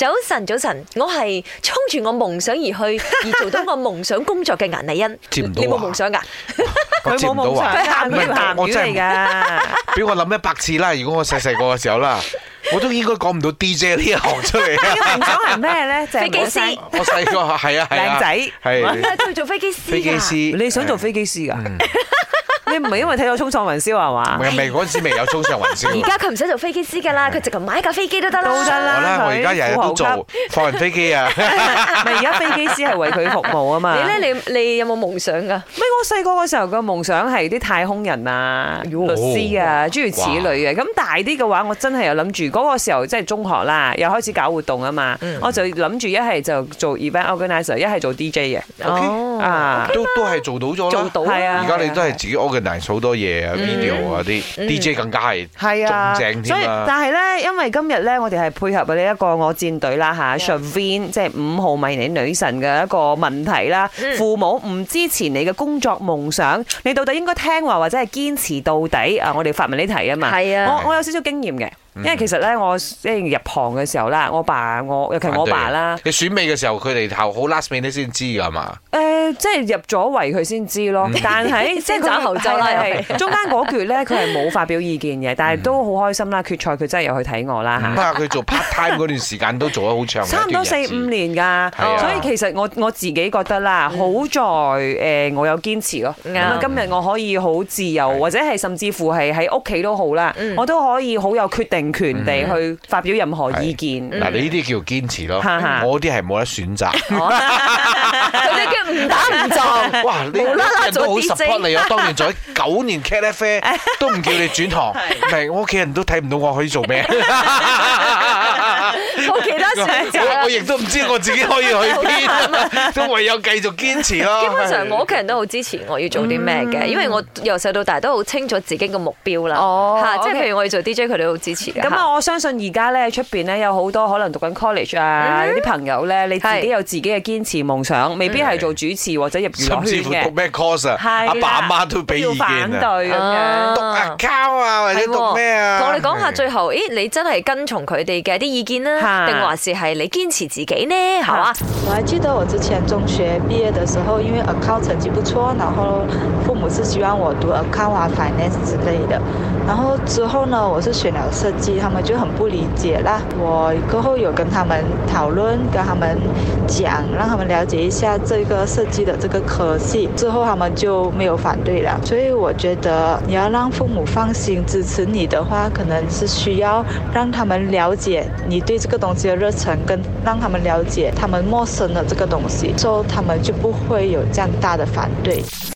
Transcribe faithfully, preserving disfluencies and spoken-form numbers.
早晨，早晨，我係衝住我夢想而去，而做到我夢想工作嘅顏麗欣。 接唔到啊！ 你冇夢想㗎？ 我接唔到啊！ 佢鹹魚鹹我真係嚟㗎。 俾我諗一百次啦！如果我細細個嘅時候啦，我都應該講唔到 D J 呢一行出嚟。 你嘅夢想係咩咧？就係飛機師。 我細個係啊係啊， 靚仔係佢做飛機師。 飛機師。 你想做飛機師㗎？你唔係因為睇到衝上雲霄係嘛？ 唔係唔係嗰陣時未有衝上雲霄。 而家佢唔使做飛機師㗎啦，佢直頭買架飛機都得啦。 都得啦。 我啦，我而家日日都做放人飛機啊！ 咪而家飛機師係為佢服務啊嘛。 你咧，你你有冇夢想㗎？ 咪我細個嘅時候嘅夢想係啲太空人啊、律師啊，諸如此類嘅。咁大啲嘅話，我真係有諗住嗰個時候即係中學啦，又開始搞活動啊嘛。我就諗住一係就做 event organizer，一係做 D J 嘅。 哦， 啊， 都都係做到咗啦。 做到係啊！ 而家你都係自己 organize 好多嘢啊 ，video 啊啲 D J 更加係係啊， 仲正所以添啊！ 但係咧，因為今日咧，我哋係配合呢一個我戰隊啦嚇 Shavin 即係五號迷你女神嘅一個問題啦。父母唔支持你嘅工作夢想，你到底應該聽話或者係堅持到底啊？我哋發問呢題啊嘛。 係啊， 我我有少少經驗嘅。因為其實咧，我即係入行嘅時候啦，我爸我尤其我爸啦， 你選美嘅時候，佢哋後好 last minute 先知㗎嘛？ 誒，即係入咗圍佢先知咯。但係即係先斬後奏啦， 係中間嗰橛咧，佢係冇發表意見嘅，但係都好開心啦。決賽佢真係有去睇我啦嚇。 不過佢做 part time 嗰段時間都做咗好長， 差唔多四五年㗎，所以其實我我自己覺得啦，好在誒我有堅持咯。咁啊，今日我可以好自由，或者係甚至乎係喺屋企都好啦，我都可以好有決定權地去發表任何意見。 嗱，你呢啲叫堅持咯，我啲係冇得選擇。 嗰啲叫唔打唔撞。 哇！你人都好 support 你啊！當年做咗九年 Cat F A 都唔叫你轉行，唔係我屋企人都睇唔到我可以做咩。 冇其他選擇。 我我亦都唔知我自己可以去邊，都唯有繼續堅持咯。 基本上我屋企人都好支持我要做啲咩嘅，因為我由細到大都好清楚自己嘅目標啦。 哦， 嚇，即係譬如我要做 D J，佢哋都好支持嘅。 咁啊，我相信而家咧出邊咧有好多可能讀緊 college 啊，有啲朋友咧，你自己有自己嘅堅持夢想，未必係做主持或者入娛樂圈嘅。 甚至乎讀咩 course 啊，阿爸阿媽都俾意見反對咁樣。 讀 account 啊，或者讀咩啊？ 同我哋講下最後，咦，你真係跟從佢哋嘅啲意見啦，定還是係你堅持自己呢？係嘛？ 我還記得我之前中學畢業的時候，因為 account 成績不錯，然後父母是希望我讀 account 啊 finance 之類的。然後之後呢，我是選了設計，他們就很不理解啦。我過後有跟他們討論，跟他們講，讓他們了解一下這個設計的這個科系，之後他們就沒有反對了。所以我覺得你要讓父母放心支持你的話，可能是需要讓他們了解你對這個東西的熱忱，跟讓他們了解他們陌生的這個東西，之後他們就不會有這樣大的反對。